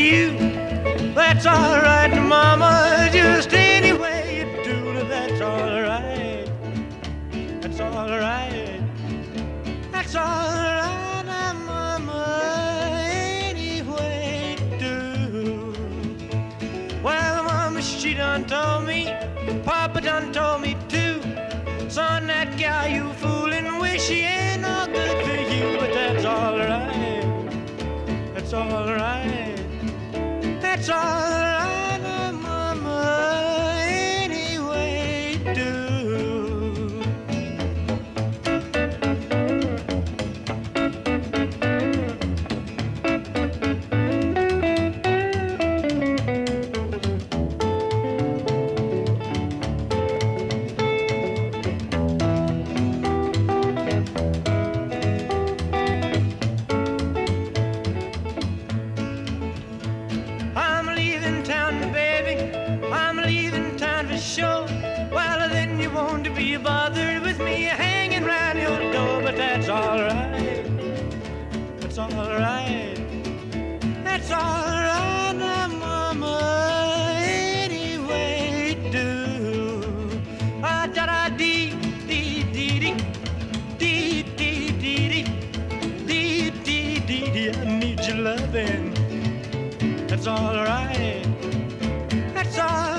you. That's all right, Mama, just any way you do, that's all right. That's all right. That's all right, Mama, any way you do. Well, Mama, she done told me, Papa done told me too. Son, that gal you fooling with, she ain't no good for you, but that's all right. That's all right. That's all right, Mama, any way you do. Sure, well then you won't be bothered with me hanging round your door, but that's all right. That's all right. That's all right, now, Mama, any way you do. Ah, da da dee dee dee dee dee dee dee dee dee dee dee. I need your loving. That's all right. That's all right.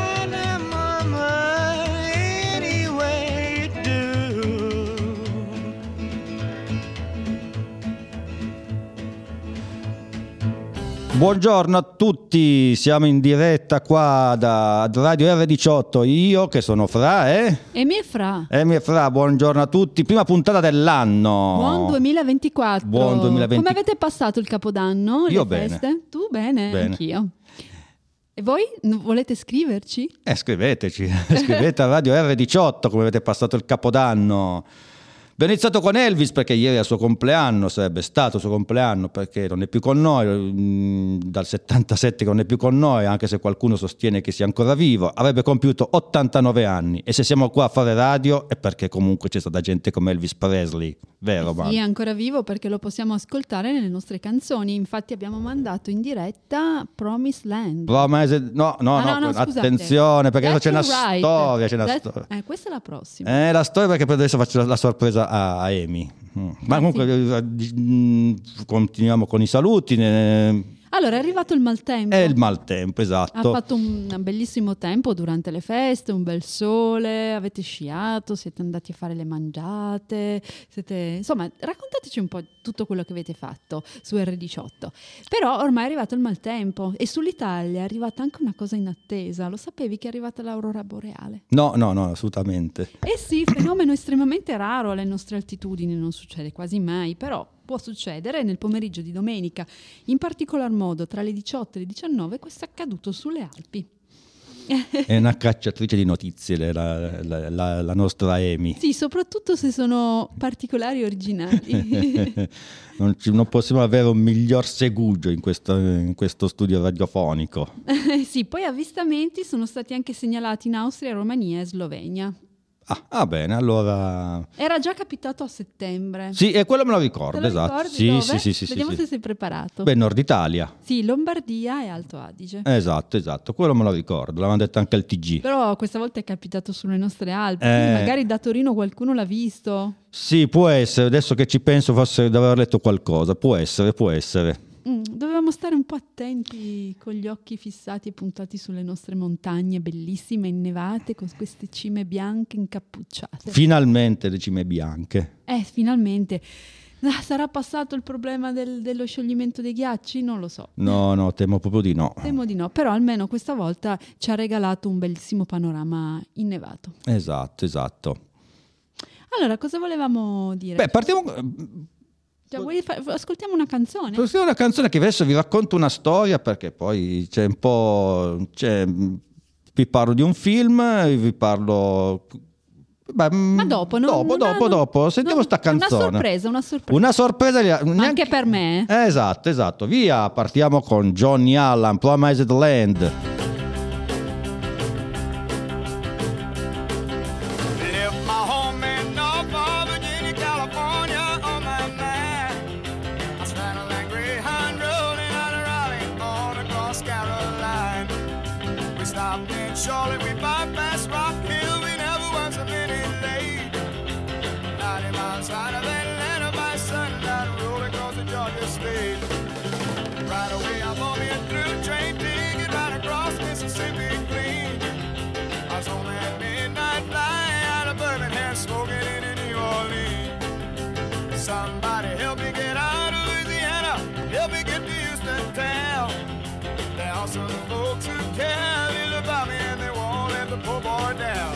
Buongiorno a tutti, siamo in diretta qua da Radio R18, io che sono Fra Emi e Fra, buongiorno a tutti, prima puntata dell'anno. Buon 2024. Buon 2024. Come avete passato il Capodanno? Io le bene. Feste? Tu bene? Anch'io. E voi volete scriverci? Scriveteci, scrivete a Radio R18 come avete passato il Capodanno. Abbiamo iniziato con Elvis perché ieri è il suo compleanno, sarebbe stato il suo compleanno perché non è più con noi, dal 77 che non è più con noi, anche se qualcuno sostiene che sia ancora vivo, avrebbe compiuto 89 anni e se siamo qua a fare radio è perché comunque c'è stata gente come Elvis Presley, vero? Sì, è ancora vivo perché lo possiamo ascoltare nelle nostre canzoni, infatti abbiamo mandato in diretta Promised Land. No, attenzione perché adesso c'è una storia. Questa è la prossima. La storia perché poi adesso faccio la sorpresa a Amy. Ma comunque continuiamo con i saluti. Allora è arrivato il maltempo. È il maltempo, esatto. Ha fatto un bellissimo tempo durante le feste, un bel sole, avete sciato, siete andati a fare le mangiate, insomma raccontateci un po' tutto quello che avete fatto su R18. Però ormai è arrivato il maltempo e sull'Italia è arrivata anche una cosa inattesa. Lo sapevi che è arrivata l'aurora boreale? No, assolutamente. Sì, fenomeno estremamente raro alle nostre altitudini, non succede quasi mai, però può succedere nel pomeriggio di domenica, in particolar modo tra le 18 e le 19, questo è accaduto sulle Alpi. È una cacciatrice di notizie la nostra Amy. Sì, soprattutto se sono particolari e originali. Non possiamo avere un miglior segugio in questo studio radiofonico. Sì, poi avvistamenti sono stati anche segnalati in Austria, Romania e Slovenia. Bene, allora... Era già capitato a settembre. Sì, e quello me lo ricordo, esatto. Sì. Vediamo se sei preparato. Nord Italia. Sì, Lombardia e Alto Adige. Esatto, quello me lo ricordo, l'avevano detto anche al TG. Però questa volta è capitato sulle nostre Alpi, magari da Torino qualcuno l'ha visto. Sì, può essere, adesso che ci penso forse di aver letto qualcosa, può essere. Dovevamo stare un po' attenti con gli occhi fissati e puntati sulle nostre montagne bellissime, innevate, con queste cime bianche incappucciate. Finalmente le cime bianche. Finalmente. Sarà passato il problema dello scioglimento dei ghiacci? Non lo so. No, temo proprio di no. Temo di no, però almeno questa volta ci ha regalato un bellissimo panorama innevato. Esatto. Allora, cosa volevamo dire? Partiamo... ascoltiamo una canzone? Ascoltiamo una canzone che adesso vi racconto una storia perché poi c'è un po'... vi parlo di un film, vi parlo... Ma dopo. Sentiamo sta canzone. Una sorpresa. Anche per me. Esatto. Via, partiamo con Johnny Allen, Promised Land. On a stopped in Charlotte, we bypassed Rock Hill, we never was a minute late. 90 miles out of Atlanta by sundown, rolling across the Georgia state. Right away I bought me a through train ticket right across Mississippi clean. I was on that midnight flight out of Birmingham, smoking in New Orleans. Somebody help me get out of Louisiana, help me get to Houston town. There are some folks who care little about me and they won't let the poor boy down.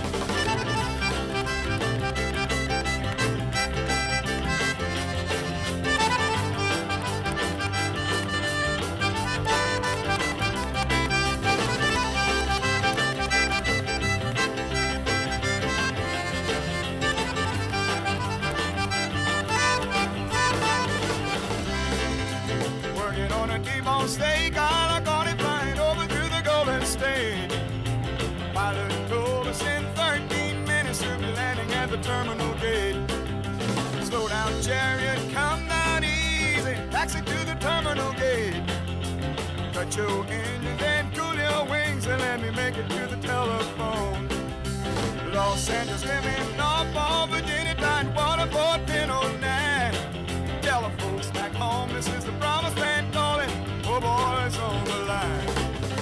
Working on a T-bone steak, I got it flying over to the Golden State. Pilot told us in 13 minutes we'll be landing at the terminal gate. Slow down, chariot, come down easy, taxi to the terminal gate. Cut your engines and cool your wings and let me make it to the telephone. Los Angeles, living Norfolk, Virginia, Tidewater, Port 1009. Tell the folks back home, this is the promised land calling, poor boys on the line.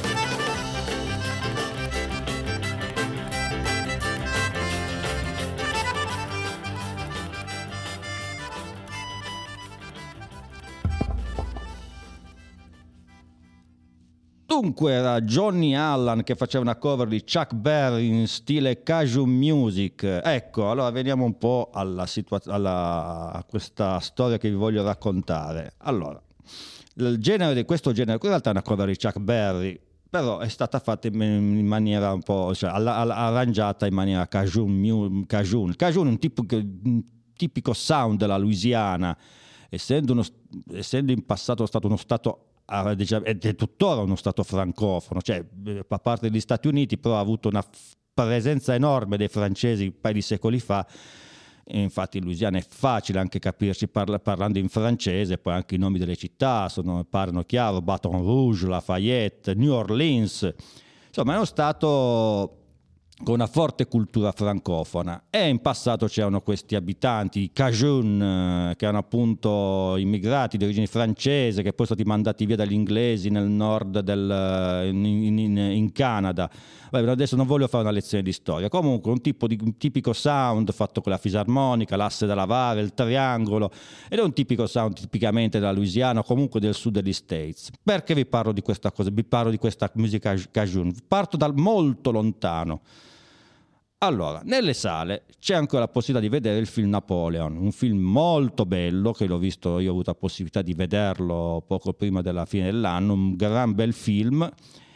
Dunque era Johnny Allen che faceva una cover di Chuck Berry in stile cajun music. Ecco, allora veniamo un po' a questa storia che vi voglio raccontare. Allora, il genere di questo genere, in realtà è una cover di Chuck Berry, però è stata fatta in maniera un po', cioè arrangiata in maniera cajun. Cajun è un tipico sound della Louisiana, essendo in passato stato uno stato ed è tuttora uno stato francofono, cioè a parte degli Stati Uniti, però ha avuto una presenza enorme dei francesi un paio di secoli fa. E infatti in Louisiana è facile anche capirci parlando in francese, poi anche i nomi delle città parlano chiaro: Baton Rouge, Lafayette, New Orleans, insomma è uno stato con una forte cultura francofona. E in passato c'erano questi abitanti Cajun, che erano appunto immigrati di origine francese, che poi sono stati mandati via dagli inglesi nel nord in Canada. Vabbè, adesso non voglio fare una lezione di storia. Comunque un tipico sound fatto con la fisarmonica, l'asse da lavare, il triangolo, ed è un tipico sound tipicamente della Louisiana o comunque del sud degli States. Perché vi parlo di questa cosa? Vi parlo di questa musica Cajun. Parto dal molto lontano. Allora, nelle sale c'è ancora la possibilità di vedere il film Napoleon, un film molto bello che l'ho visto, io ho avuto la possibilità di vederlo poco prima della fine dell'anno, un gran bel film,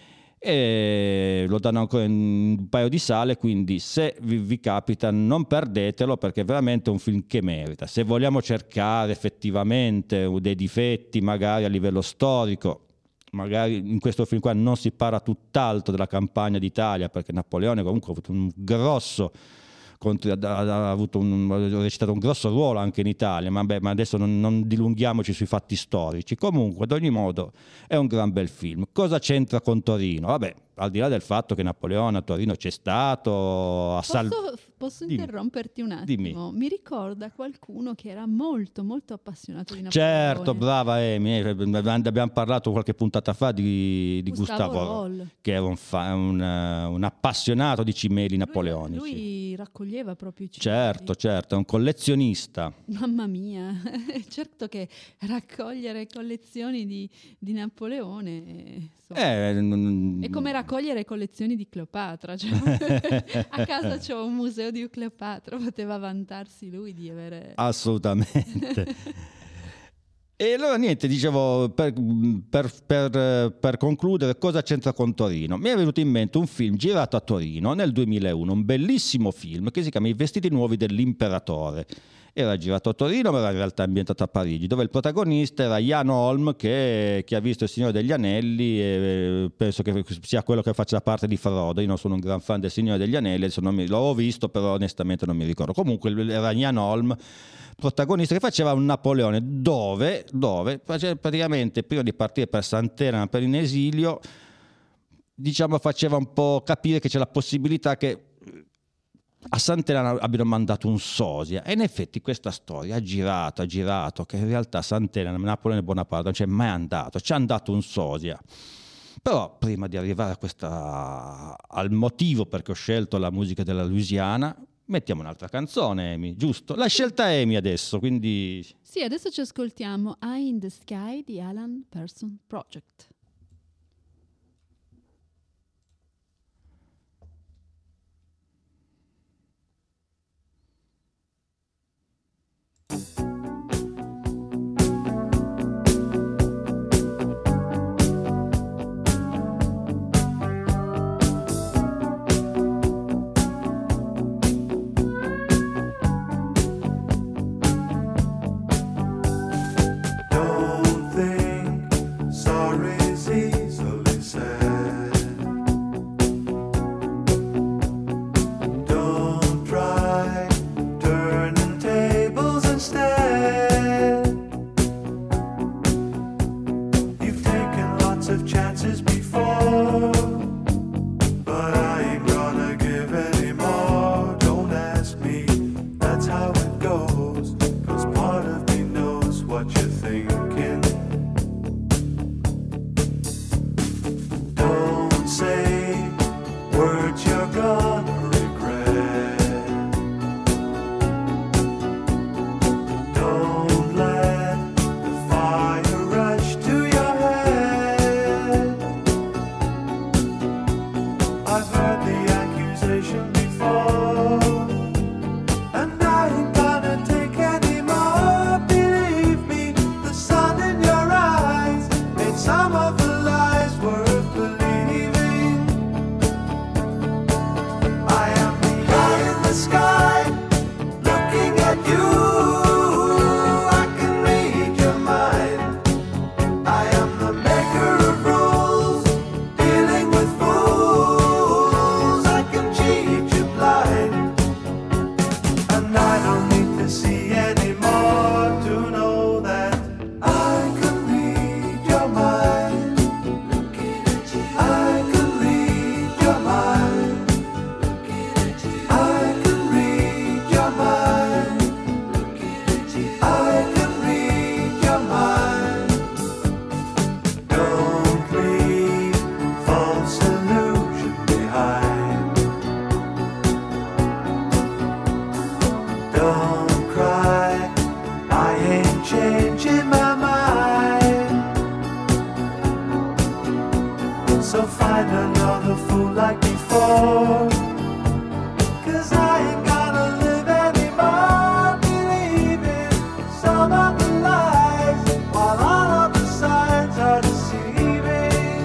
e lo danno ancora in un paio di sale, quindi se vi capita non perdetelo, perché è veramente un film che merita. Se vogliamo cercare effettivamente dei difetti magari a livello storico, magari in questo film qua non si parla tutt'altro della campagna d'Italia, perché Napoleone comunque ha avuto un grosso ha recitato un grosso ruolo anche in Italia, ma adesso non dilunghiamoci sui fatti storici. Comunque ad ogni modo è un gran bel film. Cosa c'entra con Torino? Vabbè, al di là del fatto che Napoleone a Torino c'è stato Posso interromperti un attimo? Dimmi. Mi ricorda qualcuno che era molto molto appassionato di Napoleone. Certo, brava Amy, abbiamo parlato qualche puntata fa di Gustavo Roll, che era un appassionato di cimeli napoleonici. Lui raccoglieva proprio i cimeli. Certo, è un collezionista. Mamma mia, certo che raccogliere collezioni di Napoleone è come raccogliere collezioni di Cleopatra, cioè, a casa c'ho un museo di Cleopatra, poteva vantarsi lui di avere... Assolutamente. E allora niente, dicevo, per concludere, cosa c'entra con Torino? Mi è venuto in mente un film girato a Torino nel 2001, un bellissimo film che si chiama I vestiti nuovi dell'imperatore. Era girato a Torino, ma era in realtà ambientato a Parigi, dove il protagonista era Jan Holm, che chi ha visto Il Signore degli Anelli, e penso che sia quello che faccia parte di Frodo. Io non sono un gran fan del Signore degli Anelli, adesso l'ho visto, però onestamente non mi ricordo. Comunque era Jan Holm, protagonista, che faceva un Napoleone, dove praticamente prima di partire per Sant'Elena per in esilio diciamo faceva un po' capire che c'è la possibilità che a Sant'Elena abbiano mandato un sosia, e in effetti questa storia ha girato, che in realtà Sant'Elena, Napoleone Bonaparte non c'è mai andato, ci ha andato un sosia. Però prima di arrivare al motivo perché ho scelto la musica della Louisiana, mettiamo un'altra canzone, Amy, giusto? La scelta è Amy adesso, quindi... Sì, adesso ci ascoltiamo Eye in the Sky di Alan Parsons Project. Don't think sorry's easily said. Don't try turning tables instead. You've taken lots of chances before, but I ain't gonna give any more. Don't ask me, that's how it goes. 'Cause part of me knows what you're thinking. Don't say words you're gonna regret. Don't let the fire rush to your head. I've heard the accusation before, and I ain't gonna take any more. Believe me, the sun in your eyes made some of the lies worth believing. I am the eye in the sky, looking at you. I can read your mind. I am the maker of rules, dealing with fools. I can cheat you blind, and I don't need to see any more to know that I can read your mind. I can read your mind. I can read your mind. I can read your mind. Don't leave false illusion behind. Don't cry, I ain't changing my mind. So find another fool like before, 'cause I ain't gonna live anymore believing some of the lies, while all of the signs are deceiving.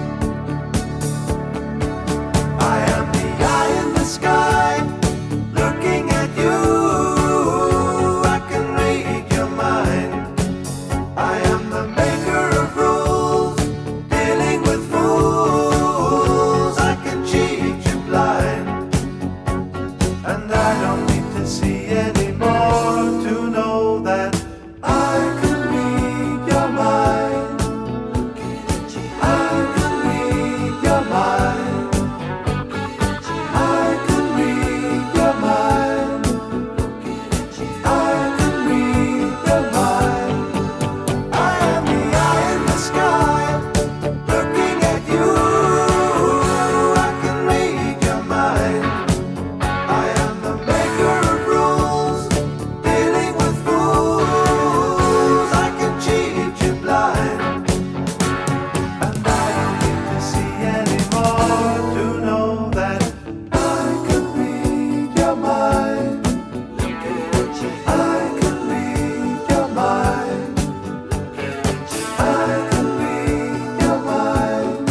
I am the eye in the sky, looking at you. I can read your mind. I am the maker of rules, dealing with fools. I can cheat you blind, and I don't need to see any more to know that I can read your mind. I can read your mind. I can read your mind. I can read your mind. I am the eye in the sky, looking at you. I can read your mind. I am the maker of rules, dealing with fools. I can cheat you blind, and I don't need to see any more to know that I can read your mind. I can read your mind. I can read your mind.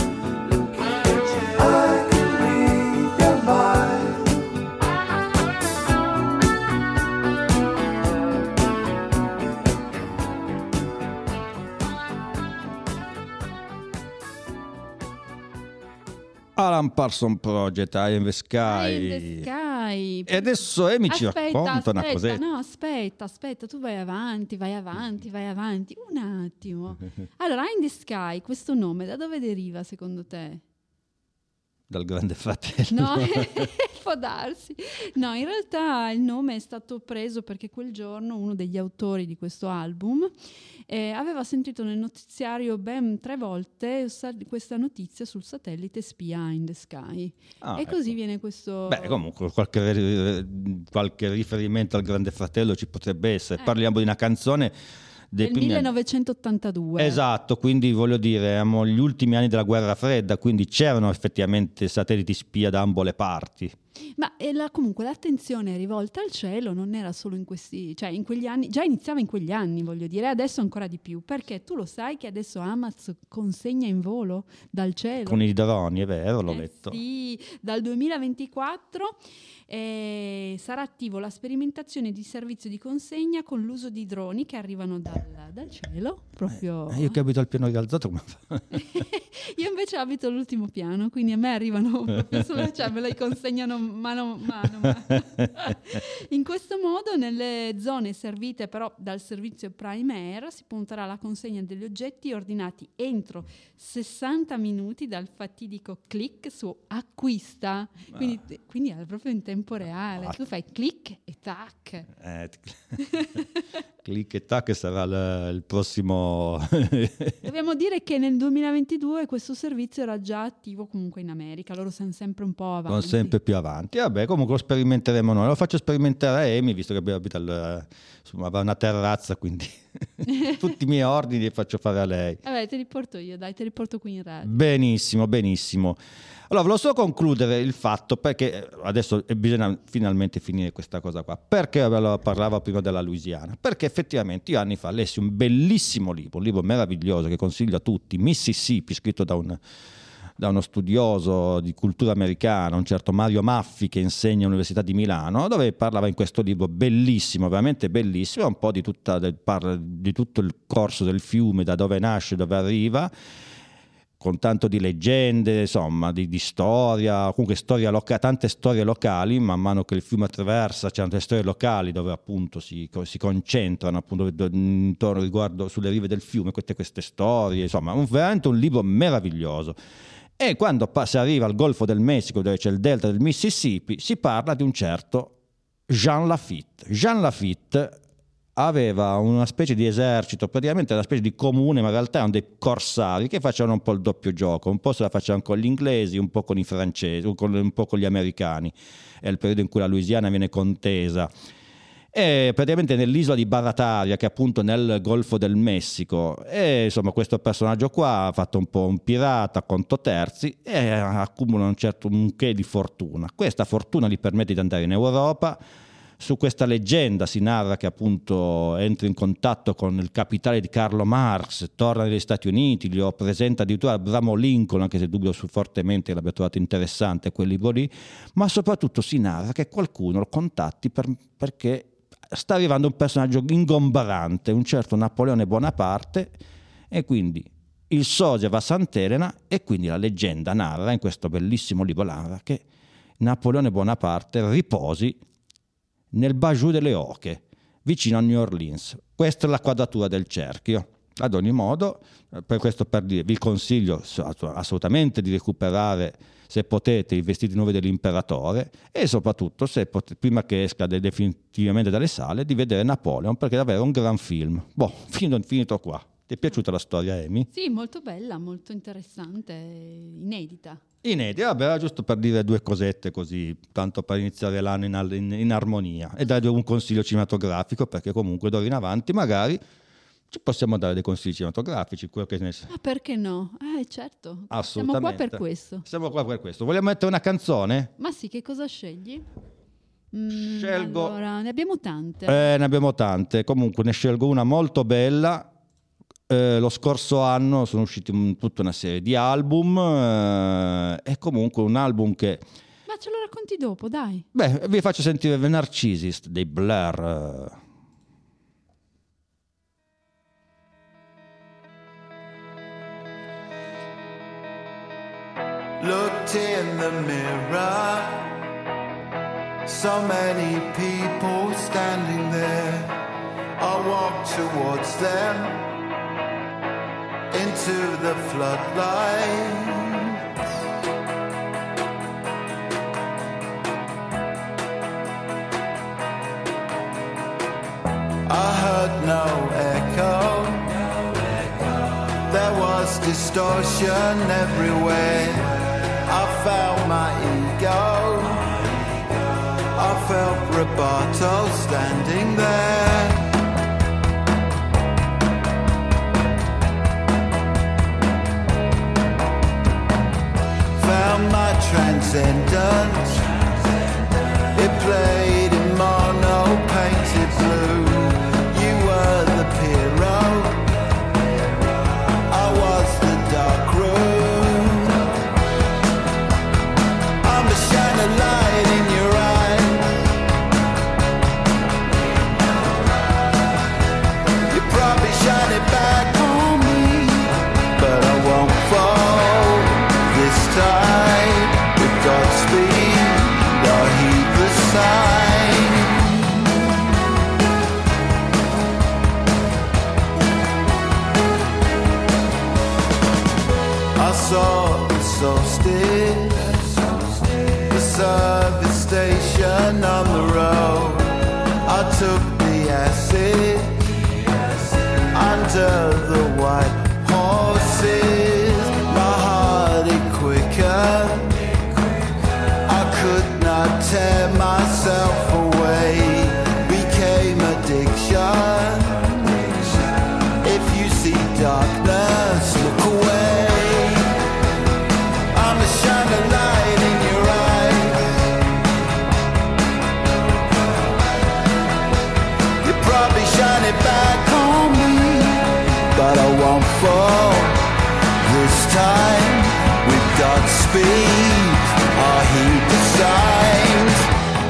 I can read your mind. Alan Parsons Project, Eye in the Sky. Eye in the Sky. E adesso Amy ci racconta una cosetta. No, aspetta, tu vai avanti. Un attimo. Allora, Eye in the Sky, questo nome da dove deriva secondo te? dal Grande Fratello. No, può darsi. No, in realtà il nome è stato preso perché quel giorno uno degli autori di questo album aveva sentito nel notiziario ben 3 volte questa notizia sul satellite Spia in the Sky. E così ecco. viene questo... Beh, comunque qualche riferimento al Grande Fratello ci potrebbe essere. Parliamo di una canzone del primi anni. 1982. Esatto, quindi voglio dire, eravamo gli ultimi anni della guerra fredda, quindi c'erano effettivamente satelliti spia da ambo le parti. Ma comunque l'attenzione rivolta al cielo non era solo in quegli anni, già iniziava in quegli anni, voglio dire, adesso ancora di più, perché tu lo sai che adesso Amaz consegna in volo dal cielo. Con i droni, è vero, l'ho letto. Sì, dal 2024 sarà attivo la sperimentazione di servizio di consegna con l'uso di droni che arrivano dal cielo, proprio... Io che abito al piano rialzato, come fa? Io invece abito all'ultimo piano, quindi a me arrivano proprio cioè me li consegnano mano a mano. In questo modo nelle zone servite però dal servizio Prime Air si punterà alla consegna degli oggetti ordinati entro 60 minuti dal fatidico click su acquista, quindi è proprio in tempo reale, tu fai click e tac. Click e tac sarà il prossimo. Dobbiamo dire che nel 2022 questo servizio era già attivo comunque in America, loro sono sempre un po' avanti. Sono sempre più avanti. Vabbè, comunque lo sperimenteremo noi. Lo faccio sperimentare a Amy, visto che abita aveva una terrazza, quindi tutti i miei ordini li faccio fare a lei. Vabbè, te li porto io, dai, te li porto qui in radio. Benissimo, benissimo. Allora, volevo solo concludere il fatto, perché adesso bisogna finalmente finire questa cosa qua. Perché parlavo prima della Louisiana? Perché effettivamente io anni fa lessi un bellissimo libro, un libro meraviglioso che consiglio a tutti, Mississippi, scritto da uno studioso di cultura americana, un certo Mario Maffi, che insegna all'Università di Milano, dove parlava in questo libro bellissimo, veramente bellissimo, un po' di tutto il corso del fiume, da dove nasce, dove arriva, con tanto di leggende, insomma, di storia, comunque tante storie locali. Man mano che il fiume attraversa c'erano delle storie locali dove appunto si concentrano appunto intorno riguardo sulle rive del fiume queste storie, insomma, veramente un libro meraviglioso. E quando si arriva al Golfo del Messico, dove c'è il delta del Mississippi, si parla di un certo Jean Lafitte. Jean Lafitte aveva una specie di esercito, praticamente una specie di comune, ma in realtà erano dei corsari che facevano un po' il doppio gioco, un po' se la facevano con gli inglesi, un po' con i francesi, un po' con gli americani. È il periodo in cui la Louisiana viene contesa. E praticamente nell'isola di Barataria, che è appunto nel Golfo del Messico, e insomma questo personaggio qua ha fatto un po' un pirata a conto terzi e accumula un che di fortuna. Questa fortuna gli permette di andare in Europa. Su questa leggenda si narra che appunto entra in contatto con il capitale di Carlo Marx, torna negli Stati Uniti, gli presenta addirittura Abramo Lincoln, anche se dubito fortemente che l'abbia trovato interessante quel libro lì, ma soprattutto si narra che qualcuno lo contatti perché sta arrivando un personaggio ingombrante, un certo Napoleone Bonaparte, e quindi il sosia va a Sant'Elena, e quindi la leggenda narra, in questo bellissimo libro narra, che Napoleone Bonaparte riposi nel Bayou delle Oche, vicino a New Orleans. Questa è la quadratura del cerchio. Ad ogni modo, per questo per dire, vi consiglio assolutamente di recuperare, se potete, i vestiti nuovi dell'imperatore, e soprattutto, prima che esca definitivamente dalle sale, di vedere Napoleon, perché è davvero un gran film. Finito qua. Ti è piaciuta la storia, Amy? Sì, molto bella, molto interessante, inedita. Inedita, vabbè, era giusto per dire 2 cosette così, tanto per iniziare l'anno in armonia, e dare un consiglio cinematografico, perché comunque d'ora in avanti magari ci possiamo dare dei consigli cinematografici, quello che ne sa. Ah, perché no? Certo, Assolutamente. siamo qua per questo. Siamo qua per questo. Vogliamo mettere una canzone? Ma sì, che cosa scegli? Scelgo... Allora, ne abbiamo tante. Ne abbiamo tante, comunque ne scelgo una molto bella. Lo scorso anno sono usciti tutta una serie di album, e comunque un album che... Ma ce lo racconti dopo, dai. Beh, vi faccio sentire The Narcissist dei Blur. Looked in the mirror, so many people standing there. I walked towards them, into the floodlights. distortion everywhere. I found my ego. I felt Roboto standing there. Found my transcendence. It played in mono painted blue. You were the hero. I was the dark room. I'm the shining light in your eye. You probably shine it back on me, but I won't fall this time. With Godspeed, I'll heed the sign. I saw the solstice, the service station on the road. I took the acid under the white horses. My heart it quicker. I could not tear myself away. Became addiction. If you see darkness, look away. I'm a shining light in your eyes. You probably shine it back on me, but I won't fall this time. With Godspeed, I heed the signs.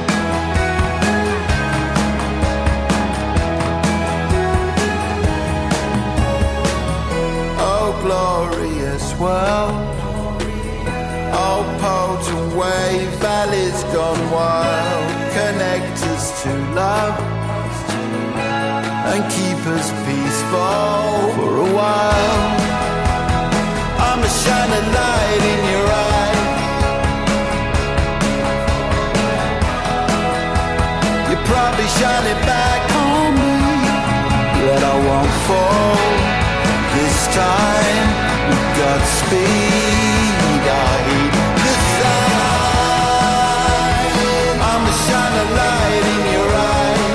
Oh, glorious world. Oh, potent wave, valleys gone wild. Connect us to love and keep us peaceful for a while. I'm a shining light in your eye. You probably shine it back on me, but I won't fall this time. With Godspeed, I heed the sign. I'm a shining light in your eye.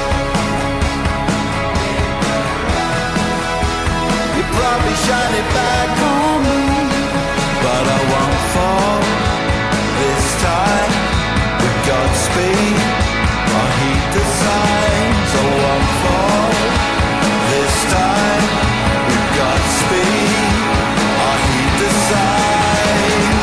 You probably shine it back on me, but I won't fall this time. With Godspeed, I heed the signs. I won't fall this time. With Godspeed, I heed the signs.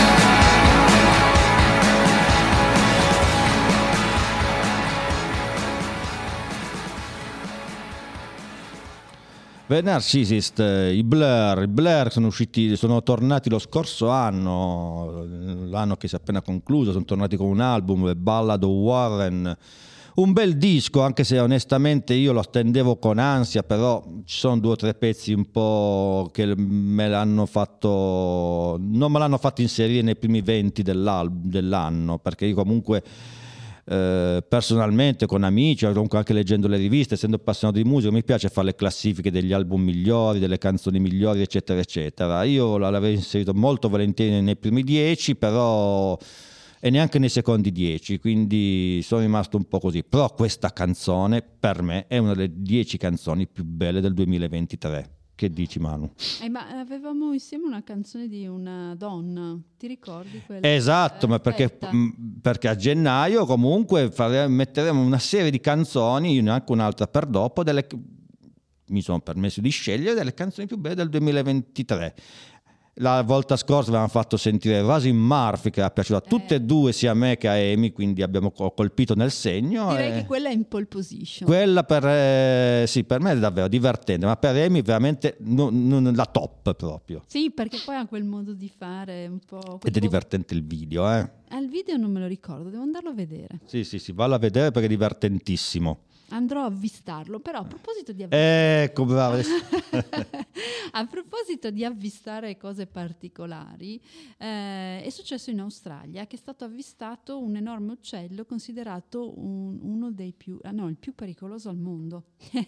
The Narcissist, i Blur sono tornati lo scorso anno, l'anno che si è appena concluso, sono tornati con un album, The Ballad of Warren, un bel disco, anche se onestamente io lo attendevo con ansia, però ci sono 2 o 3 pezzi un po' che non me l'hanno fatto inserire nei primi 20 dell'anno, perché io comunque personalmente con amici, o comunque anche leggendo le riviste, essendo appassionato di musica, mi piace fare le classifiche degli album migliori, delle canzoni migliori, eccetera eccetera. Io l'avrei inserito molto volentieri nei primi 10, però e neanche nei secondi 10, quindi sono rimasto un po' così. Però questa canzone per me è una delle 10 canzoni più belle del 2023. Che dici, Manu? Ma avevamo insieme una canzone di una donna, ti ricordi quella? Esatto, ma perché a gennaio comunque metteremo una serie di canzoni, anche un'altra per dopo, mi sono permesso di scegliere delle canzoni più belle del 2023. La volta scorsa avevamo fatto sentire Roisin Murphy, che è piaciuta a tutte e due, sia a me che a Amy, quindi abbiamo colpito nel segno. Direi che quella è in pole position. Quella per me è davvero divertente, ma per Amy veramente la top proprio. Sì, perché poi ha quel modo di fare un po'... Ed è divertente il video, Il video non me lo ricordo, devo andarlo a vedere. Sì, vallo a vedere perché è divertentissimo. Andrò a avvistarlo, però a proposito di Ecco, bravo. a proposito di avvistare cose particolari, è successo in Australia che è stato avvistato un enorme uccello considerato uno dei più, il più pericoloso al mondo.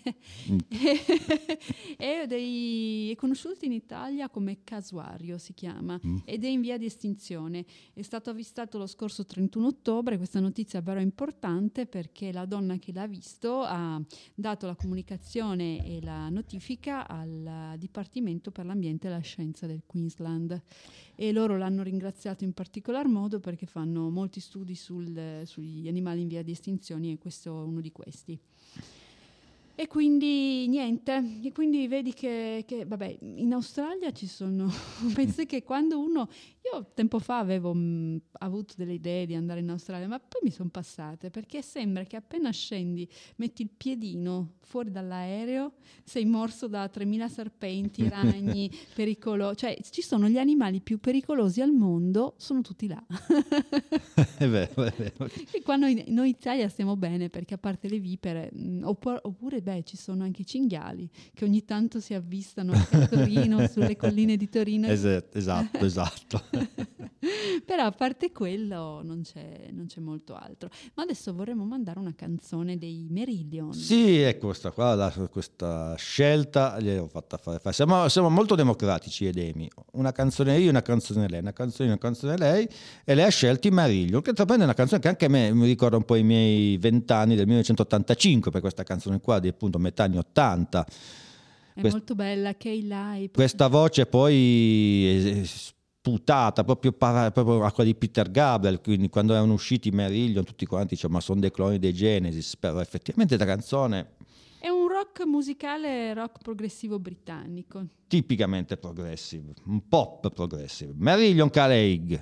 È conosciuto in Italia come casuario, si chiama, ed è in via di estinzione. È stato avvistato lo scorso 31 ottobre, questa notizia però è importante perché la donna che l'ha visto ha dato la comunicazione e la notifica al Dipartimento per l'Ambiente e la Scienza del Queensland, e loro l'hanno ringraziato in particolar modo perché fanno molti studi sugli animali in via di estinzione, e questo è uno di questi. E quindi niente, e quindi vedi che vabbè, in Australia ci sono, penso che quando io tempo fa avevo avuto delle idee di andare in Australia, ma poi mi sono passate, perché sembra che appena scendi, metti il piedino fuori dall'aereo, sei morso da 3000 serpenti, ragni, cioè ci sono gli animali più pericolosi al mondo, sono tutti là. È vero. E qua noi in Italia stiamo bene, perché a parte le vipere, oppure ci sono anche i cinghiali che ogni tanto si avvistano anche a Torino, sulle colline di Torino. Esatto. Però a parte quello non c'è molto altro. Ma adesso vorremmo mandare una canzone dei Marillion. Sì, è questa scelta gliel'ho fatta fare. Siamo molto democratici ed Emi. Una canzone io, una canzone lei, una canzone lei, e lei ha scelto i Marillion, che è una canzone che anche a me mi ricorda un po' i miei 20 anni del 1985, per questa canzone qua di appunto metà anni 80. È molto bella, Kay. Questa voce poi sputata proprio a quella di Peter Gabriel, quindi quando erano usciti i Marillion tutti quanti dicevano ma sono dei cloni dei Genesis, però effettivamente la canzone è un rock musicale, rock progressivo britannico, tipicamente progressive, un pop progressive. Marillion Craig.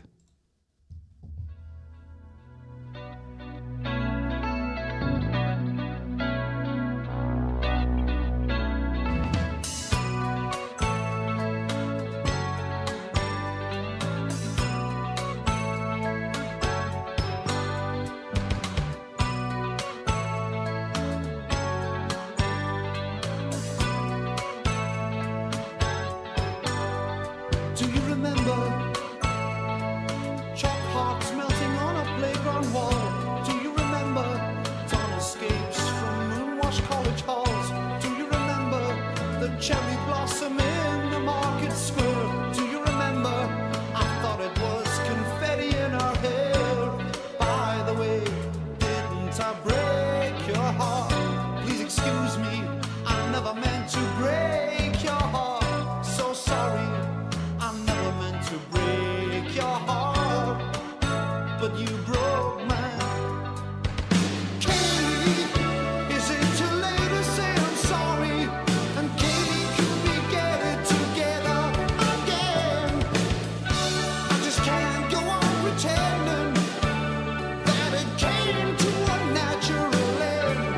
Do you remember chalk hearts melting on a playground wall? Do you remember dawn escapes from moon-washed college halls? Do you remember the cherry blossom in the market square? Do you remember I thought it was confetti in our hair? By the way, didn't I break your heart? Please excuse me, I never meant to break your heart. So sorry, I never meant to break your heart, but you broke mine. Katie, is it too late to say I'm sorry? And Katie, could we get it together again? I just can't go on pretending that it came to a natural end.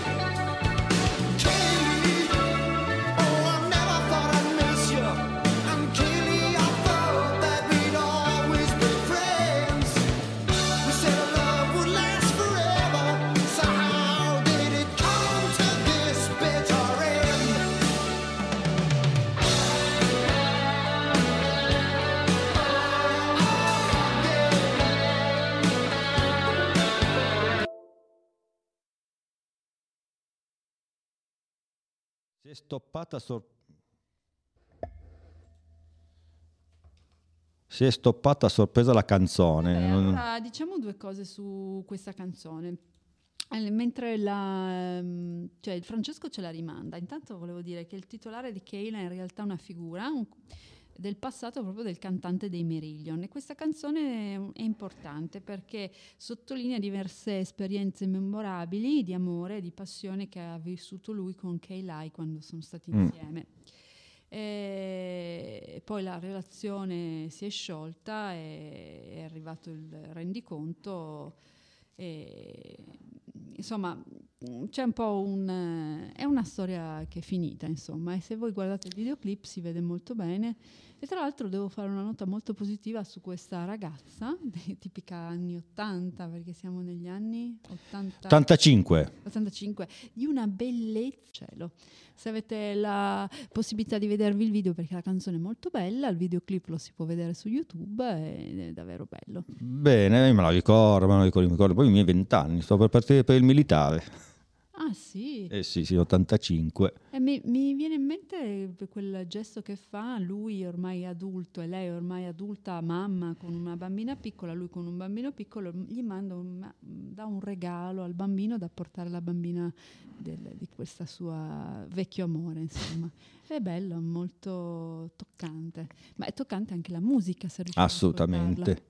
Katie, oh, I never thought I'd miss you. And Katie, I thought that we'd always be friends. We said our love would last forever, so how did it come to this bitter end? Si è stoppata a sorpresa la canzone. Allora, diciamo due cose su questa canzone. Mentre cioè Francesco ce la rimanda, intanto volevo dire che il titolare di Kayla è in realtà una figura del passato proprio del cantante dei Marillion, e questa canzone è importante perché sottolinea diverse esperienze memorabili di amore e di passione che ha vissuto lui con Kayla quando sono stati insieme. E poi la relazione si è sciolta e è arrivato il rendiconto, e insomma c'è un po' è una storia che è finita, insomma, e se voi guardate il videoclip si vede molto bene. E tra l'altro devo fare una nota molto positiva su questa ragazza, tipica anni 80, perché siamo negli anni 85. 85, di una bellezza cielo. Se avete la possibilità di vedervi il video, perché la canzone è molto bella, il videoclip lo si può vedere su YouTube ed è davvero bello. Bene, me lo ricordo, poi i miei 20 anni, sto per partire per il militare. Ah sì? Sì, 85. E mi viene in mente quel gesto che fa lui ormai adulto e lei ormai adulta, mamma con una bambina piccola, lui con un bambino piccolo, gli dà un regalo al bambino da portare alla bambina di questa sua vecchio amore, insomma. È bello, molto toccante, ma è toccante anche la musica, se riusciamo ad Assolutamente.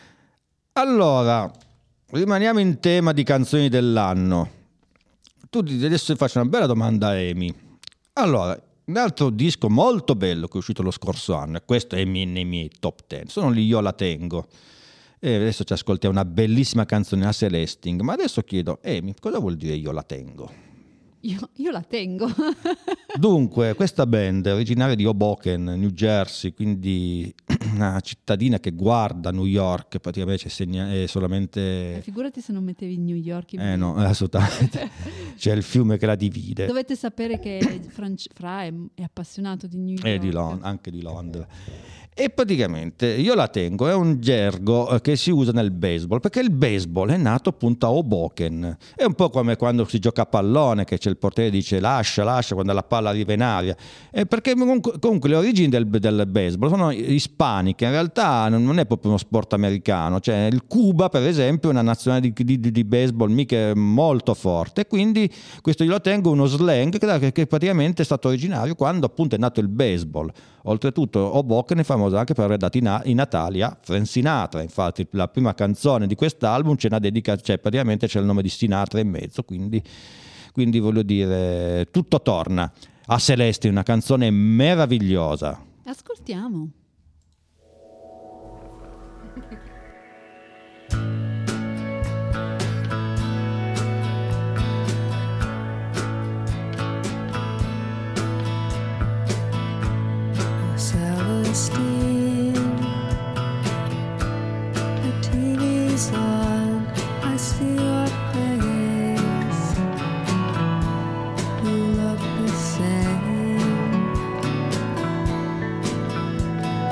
Allora, rimaniamo in tema di canzoni dell'anno. Tu adesso ti faccio una bella domanda a Amy. Allora, un altro disco molto bello che è uscito lo scorso anno, e questo è nei miei top 10, sono gli Io La Tengo. E adesso ci ascoltiamo una bellissima canzone a Celesting, ma adesso chiedo, Amy, cosa vuol dire Io La Tengo? Io la tengo. Dunque, questa band è originaria di Hoboken, New Jersey, quindi una cittadina che guarda New York, praticamente è solamente... Figurati se non mettevi New York in no, assolutamente. C'è il fiume che la divide. Dovete sapere che Fra è appassionato di New York. Anche di Londra. E praticamente Io La Tengo è un gergo che si usa nel baseball, perché il baseball è nato appunto a Hoboken. È un po' come quando si gioca a pallone, che c'è il portiere che dice lascia quando la palla arriva in aria. Perché comunque le origini del baseball sono ispaniche, in realtà non è proprio uno sport americano. Cioè il Cuba, per esempio, è una nazione di baseball mica molto forte, e quindi questo Io La Tengo è uno slang che praticamente è stato originario quando appunto è nato il baseball. Oltretutto Hoboken è famosa anche per aver dato i natali a Frank Sinatra, infatti la prima canzone di quest'album c'è una dedica, cioè praticamente c'è il nome di Sinatra in mezzo, quindi voglio dire, tutto torna. A Celeste, una canzone meravigliosa. Ascoltiamo. Celestine, the TV's on, I see your face. You look the same.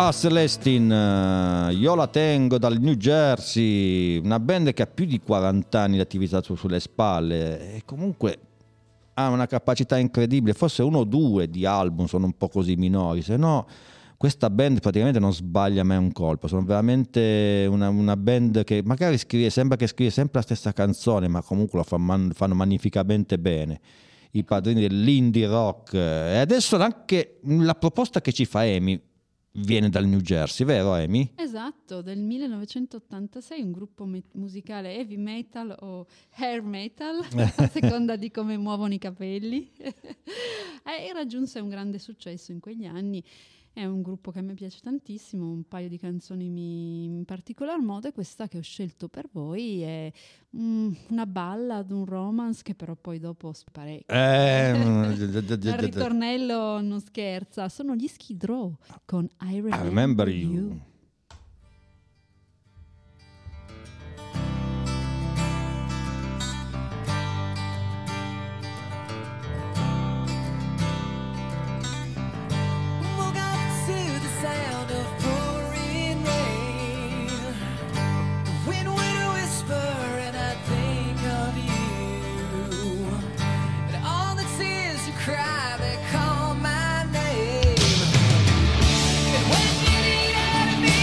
Celestine, io la tengo dal New Jersey, una band che ha più di 40 anni di attività sulle spalle e comunque ha una capacità incredibile, forse 1 o 2 di album sono un po' così minori, se no questa band praticamente non sbaglia mai un colpo, sono veramente una band che magari sembra che scrive sempre la stessa canzone, ma comunque lo fanno magnificamente bene. I padrini dell'indie rock, e adesso anche la proposta che ci fa Amy viene dal New Jersey, vero Amy? Esatto, del 1986, un gruppo musicale heavy metal o hair metal, a seconda di come muovono i capelli, e raggiunse un grande successo in quegli anni. È un gruppo che a me piace tantissimo, un paio di canzoni in particolar modo, e questa che ho scelto per voi è una ballad, un romance che però poi dopo sparecchio. Il ritornello non scherza, sono gli Skid Row con I Remember You. Sound of pouring rain, the wind will whisper and I think of you, and all the tears you cry, they call my name, and when you need out of me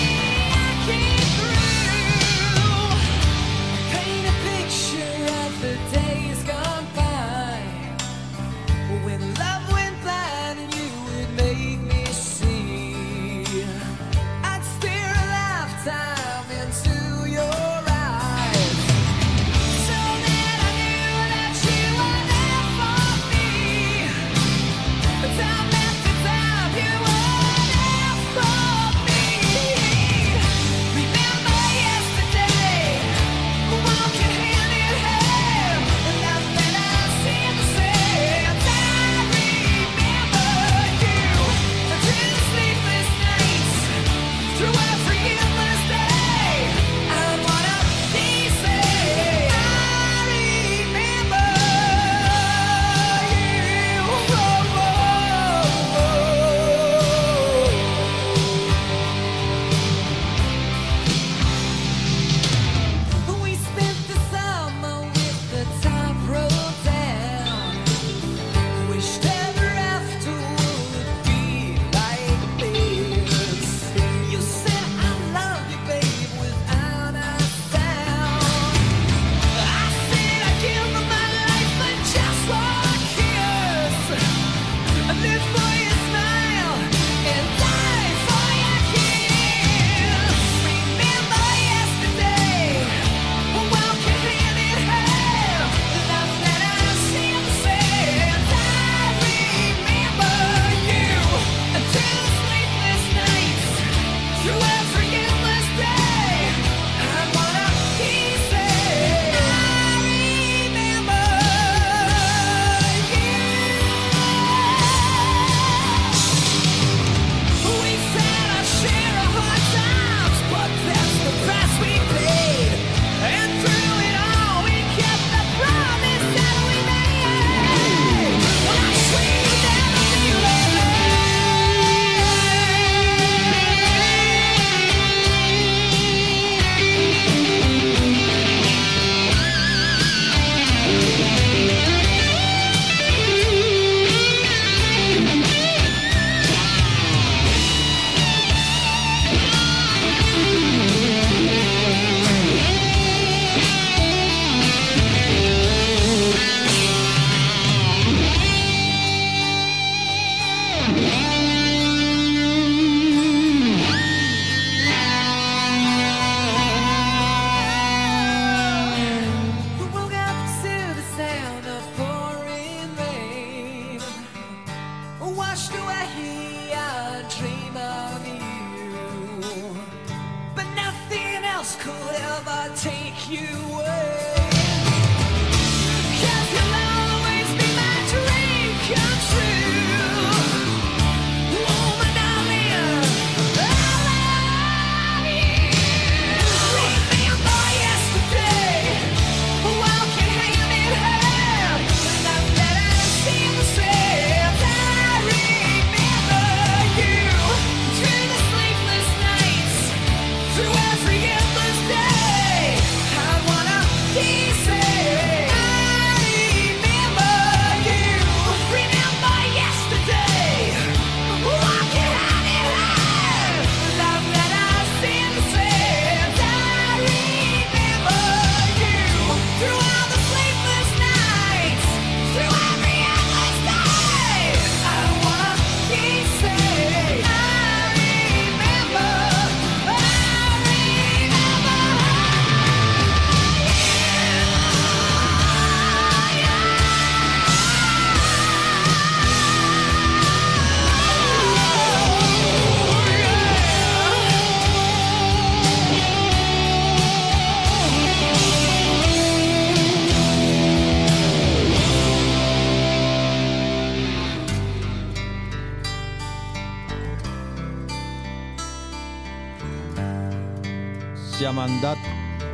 siamo andati.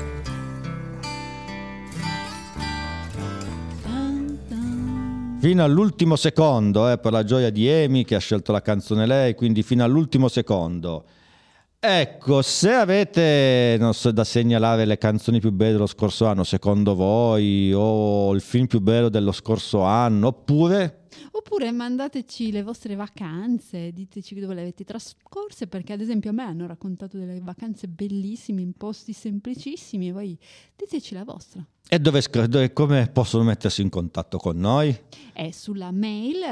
Fino all'ultimo secondo, per la gioia di Amy che ha scelto la canzone lei, quindi fino all'ultimo secondo. Ecco, se avete, non so, da segnalare le canzoni più belle dello scorso anno, secondo voi, o il film più bello dello scorso anno, oppure mandateci le vostre vacanze, diteci dove le avete trascorse, perché ad esempio a me hanno raccontato delle vacanze bellissime in posti semplicissimi, e voi diteci la vostra. e come possono mettersi in contatto con noi? È sulla mail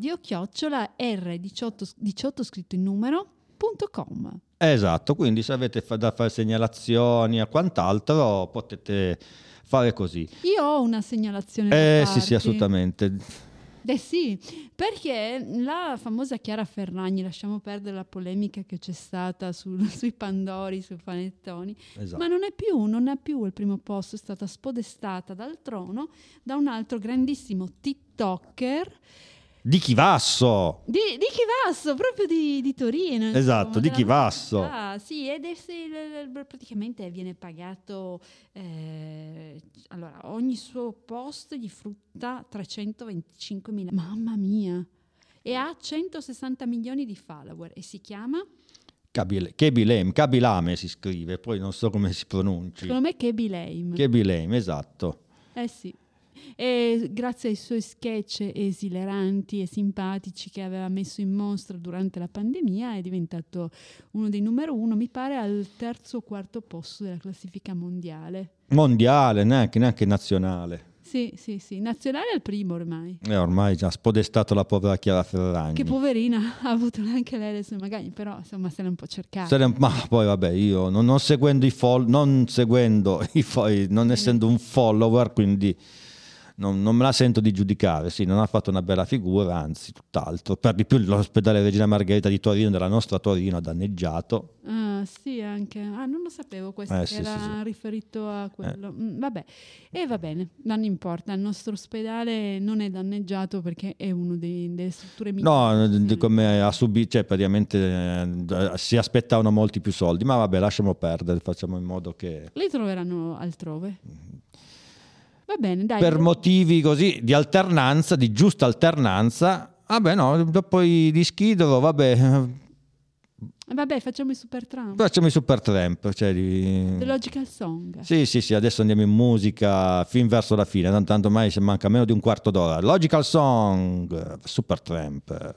radio@r18 scritto in numero.com. Esatto, quindi se avete da fare segnalazioni e quant'altro potete fare così. Io ho una segnalazione da Sì, sì, farti. assolutamente. Sì, perché la famosa Chiara Ferragni, lasciamo perdere la polemica che c'è stata sui Pandori, sui panettoni, Esatto. ma non ha più il primo posto, è stata spodestata dal trono da un altro grandissimo TikToker Di Chivasso! di Chivasso, proprio di Torino. Esatto, di della Chivasso. nostra città. Sì, ed praticamente viene pagato, allora, ogni suo post gli frutta 325.000. Mamma mia! E ha 160 milioni di follower e si chiama, Kabilame si scrive, poi non so come si pronunci. secondo me, Kebi Lame. Kabilame, esatto. Sì. E grazie ai suoi sketch esileranti e simpatici che aveva messo in mostra durante la pandemia è diventato uno dei numero uno, mi pare al terzo o quarto posto della classifica mondiale. Mondiale, neanche nazionale. Sì, nazionale al primo ormai. Ormai già spodestato la povera Chiara Ferragni. Che poverina, ha avuto anche lei le sue magagni, però insomma se l'è un po' cercata. Ma poi vabbè, io non essendo un follower, quindi non me la sento di giudicare. Sì, non ha fatto una bella figura, anzi tutt'altro. Per di più l'ospedale Regina Margherita di Torino, della nostra Torino, ha danneggiato. Sì, anche. Non lo sapevo questo, che Sì, era sì. riferito a quello. Vabbè, e va bene, non importa. Il nostro ospedale non è danneggiato perché è uno delle strutture migliori. No, come ha subito, cioè praticamente si aspettavano molti più soldi, ma vabbè, lasciamo perdere, facciamo in modo che Li troveranno altrove. Va bene, dai. per motivi così di alternanza, di giusta alternanza, vabbè no, dopo di Schidolo, vabbè, Vabbè, facciamo i Super Trump. facciamo i Supertramp, cioè The Logical Song. Sì, adesso andiamo in musica fin verso la fine, tanto ormai se manca meno di un quarto d'ora. Logical Song, Supertramp.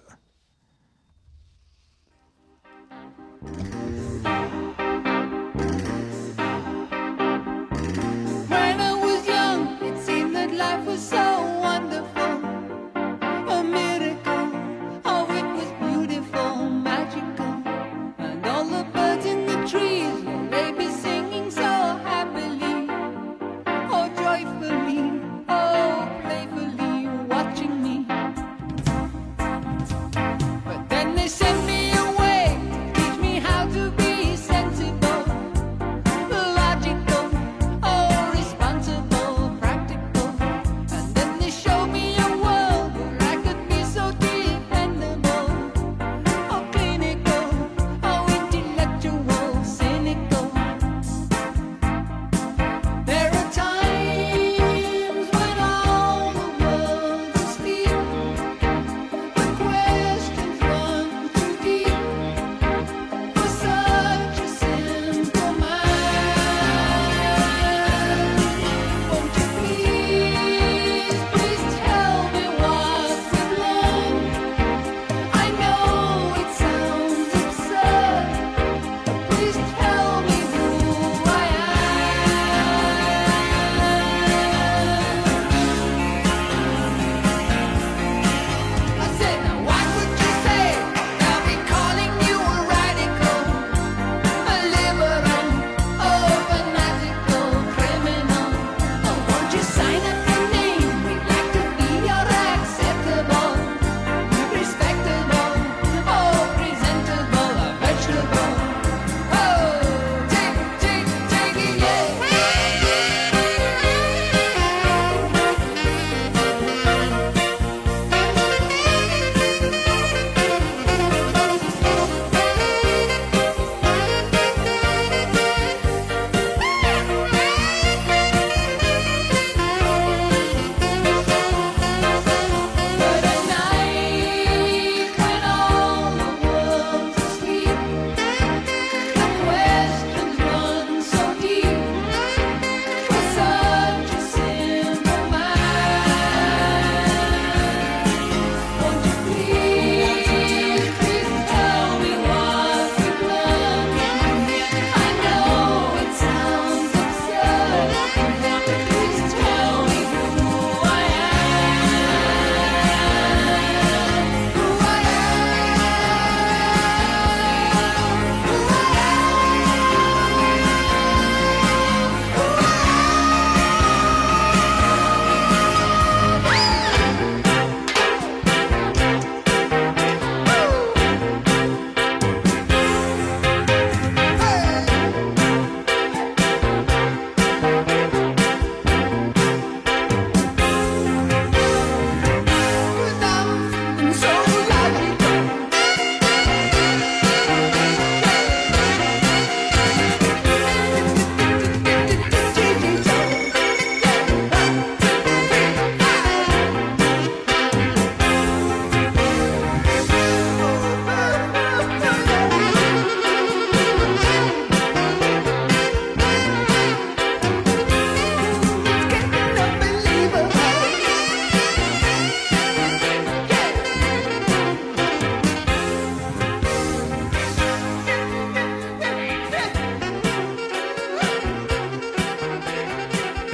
When I was young, it seemed that life was so wonderful, a miracle. Oh, it was beautiful, magical, and all the birds in the trees, they be singing so happily, oh joyfully, oh playfully, watching me. But then they sent me away, teach me how to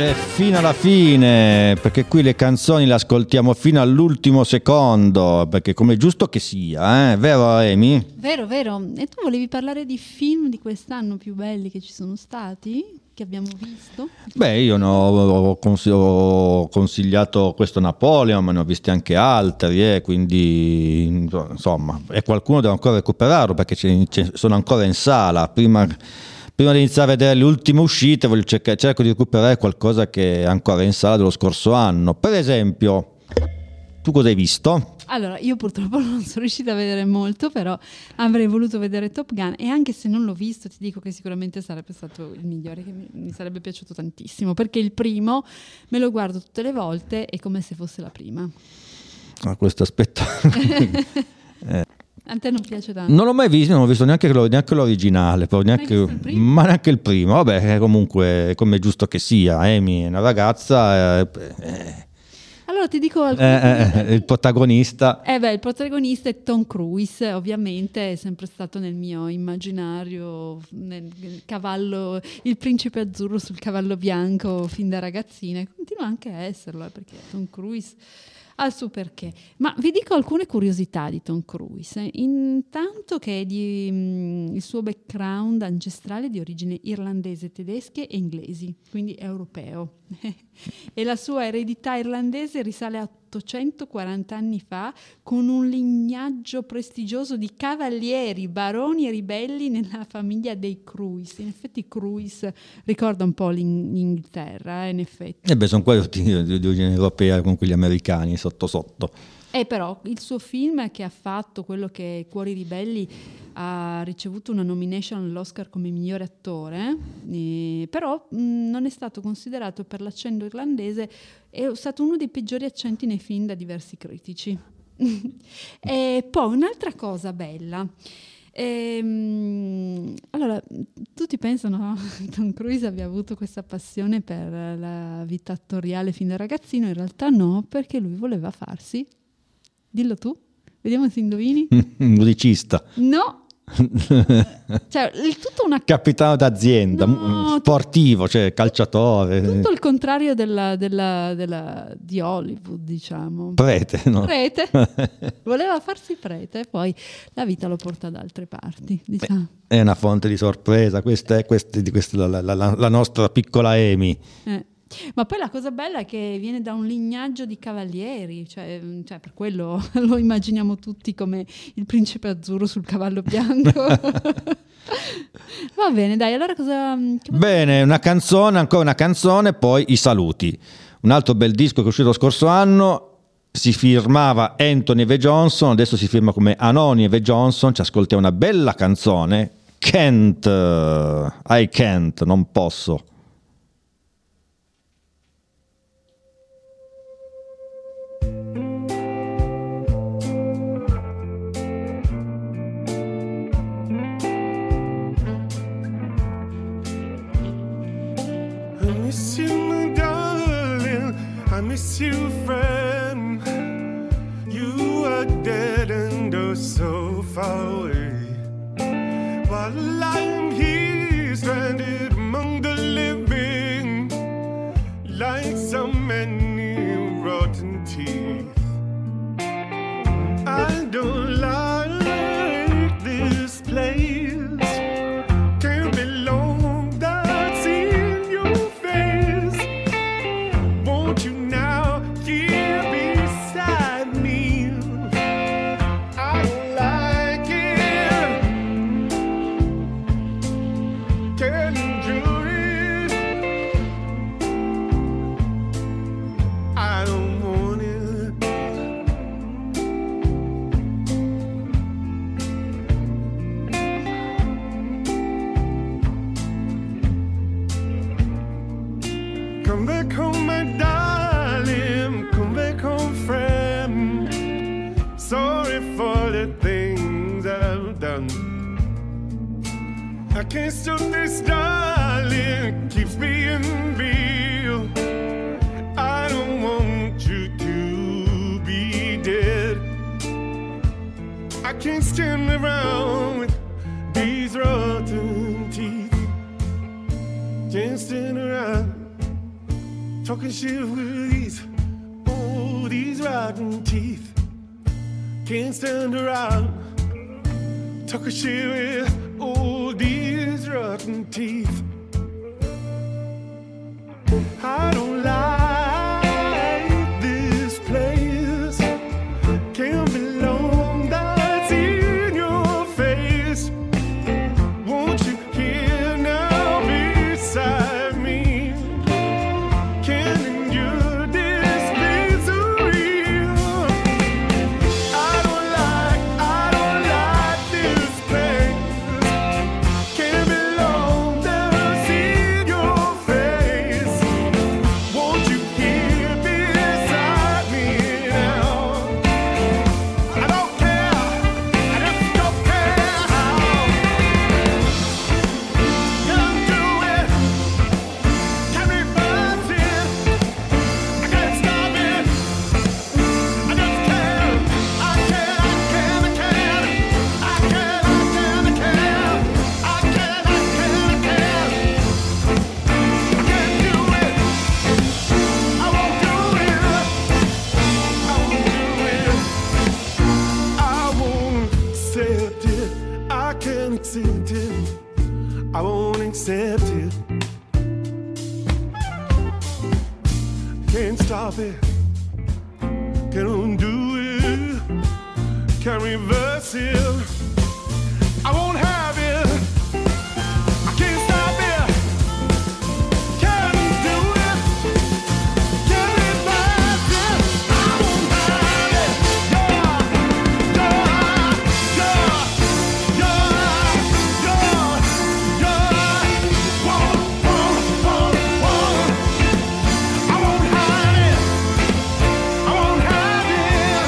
E fino alla fine, perché qui le canzoni le ascoltiamo fino all'ultimo secondo, perché come è giusto che sia, vero Amy? Vero, vero. E tu volevi parlare di film di quest'anno più belli che ci sono stati, che abbiamo visto? Beh, io ho consigliato questo Napoleon, ma ne ho visti anche altri, quindi insomma, e qualcuno deve ancora recuperarlo perché sono ancora in sala. Prima di iniziare a vedere le ultime uscite, cerco di recuperare qualcosa che è ancora in sala dello scorso anno. Per esempio, tu cosa hai visto? Allora, io purtroppo non sono riuscita a vedere molto, però avrei voluto vedere Top Gun, e anche se non l'ho visto ti dico che sicuramente sarebbe stato il migliore, che mi sarebbe piaciuto tantissimo, perché il primo me lo guardo tutte le volte, è come se fosse la prima. Questo aspetto... A te non piace tanto? Non l'ho mai visto, non ho visto neanche l'originale, ma neanche il primo. Vabbè, comunque, come è giusto che sia, Amy è una ragazza... Allora ti dico il protagonista. Il protagonista è Tom Cruise, ovviamente è sempre stato nel mio immaginario, nel cavallo, il principe azzurro sul cavallo bianco fin da ragazzina, e continua anche a esserlo, perché Tom Cruise ha il suo perché. Ma vi dico alcune curiosità di Tom Cruise. Intanto che il suo background ancestrale è di origine irlandese, tedesche e inglesi, quindi europeo. E la sua eredità irlandese risale a 840 anni fa, con un lignaggio prestigioso di cavalieri, baroni e ribelli nella famiglia dei Cruise. In effetti Cruise ricorda un po' l'Inghilterra, in effetti. Sono quelli di origine europea con quegli americani sotto sotto. Però il suo film che ha fatto, quello che è Cuori ribelli, ha ricevuto una nomination all'Oscar come migliore attore, però non è stato considerato per l'accento irlandese, è stato uno dei peggiori accenti nei film da diversi critici. E poi un'altra cosa bella, allora tutti pensano che Tom Cruise abbia avuto questa passione per la vita attoriale fin da ragazzino, in realtà no, perché lui voleva farsi, dillo tu, vediamo se indovini. Musicista. No. Cioè, tutto una... Capitano d'azienda, no, sportivo, cioè calciatore. Tutto il contrario di Hollywood, diciamo. Prete, no? Prete. Voleva farsi prete, poi la vita lo porta da altre parti, diciamo. È una fonte di sorpresa, questa è la nostra piccola Amy. Ma poi la cosa bella è che viene da un lignaggio di cavalieri, cioè per quello lo immaginiamo tutti come il principe azzurro sul cavallo bianco. Va bene, dai, allora Bene, ancora una canzone, poi i saluti. Un altro bel disco che è uscito lo scorso anno, si firmava Anthony V. Johnson, adesso si firma come Anoni V. Johnson, ci ascoltiamo una bella canzone, I Can't, non posso. I miss you, friend. You are dead and oh so far away. While I'm here stranded among the living, like so many rotten teeth. I don't like this place. Can't belong without seeing your face. Won't you now here beside me? I don't like it. Can't endure it. I don't want it. Come back home, my darling. Come back home, friend. Sorry for the things that I've done. I can't stop this, darling. It keeps being real. I don't want you to be dead. I can't stand around with these rotten teeth. Can't stand around. talking shit with these rotten teeth. Can't stand around talking shit with these rotten teeth. I don't like this place. Can't belong, that's in your face. Won't you hear now beside me? Can't endure this misery. I don't like this place. Can't belong, that's in your face. Won't you hear beside me now? I don't care, I just don't care how. Can't do it, can't reverse it, I can't stop it. I just can't, I can't, I can't, I can't, I can't, I can't, I can't, I can't, I can't. I can't do it. I won't do it. I won't do it. I won't accept it. I can't accept it. I won't accept it. Can't stop it. Can't undo it. Can't reverse it. I won't have it. I can't stop it. Can't do it. Can't reverse it. I won't have it. I won't have it. I won't have it.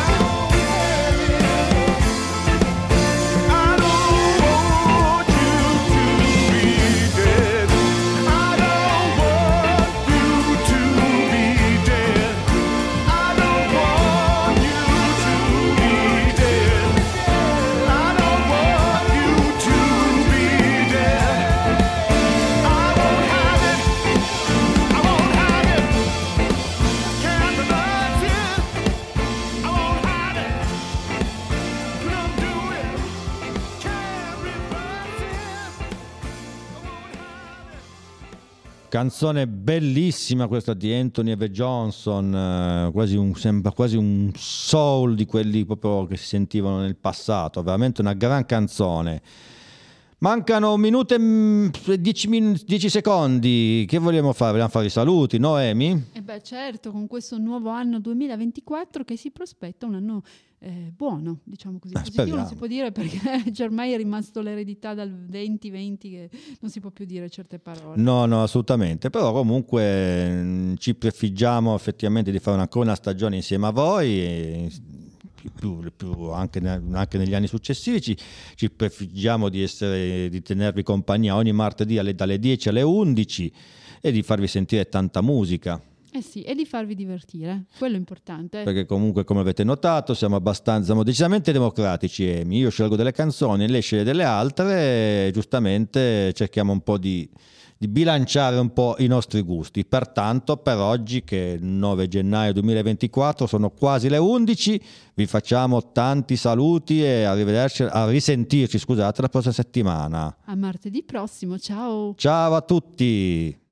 I don't want you to be dead. I don't want you to be dead. I don't want you to be dead. I don't want you to be dead. I won't have it. I won't have it. Can't reverse it. I won't have it. Couldn't do it. Can't reverse it. I won't have it. Canzone bellissima questa di Anthony Eve Johnson, sembra quasi un soul di quelli proprio che si sentivano nel passato, veramente una gran canzone. Mancano un minuto e 10 secondi, che vogliamo fare? Vogliamo fare i saluti, Noemi? E beh, certo, con questo nuovo anno 2024 che si prospetta un anno buono, diciamo così. Positivo speriamo. non si può dire perché già ormai è rimasto l'eredità dal 2020 che non si può più dire certe parole. No, assolutamente, però comunque ci prefiggiamo effettivamente di fare ancora una stagione insieme a voi e anche negli anni successivi ci prefiggiamo di tenervi compagnia ogni martedì dalle 10 alle 11 e di farvi sentire tanta musica. Eh sì, e di farvi divertire, quello è importante. Perché comunque, come avete notato, siamo decisamente democratici, Amy. Io scelgo delle canzoni, lei sceglie delle altre e giustamente cerchiamo un po' di bilanciare un po' i nostri gusti. Pertanto, per oggi, che è il 9 gennaio 2024, sono quasi le 11, vi facciamo tanti saluti e a risentirci, scusate, la prossima settimana. A martedì prossimo, ciao! Ciao a tutti!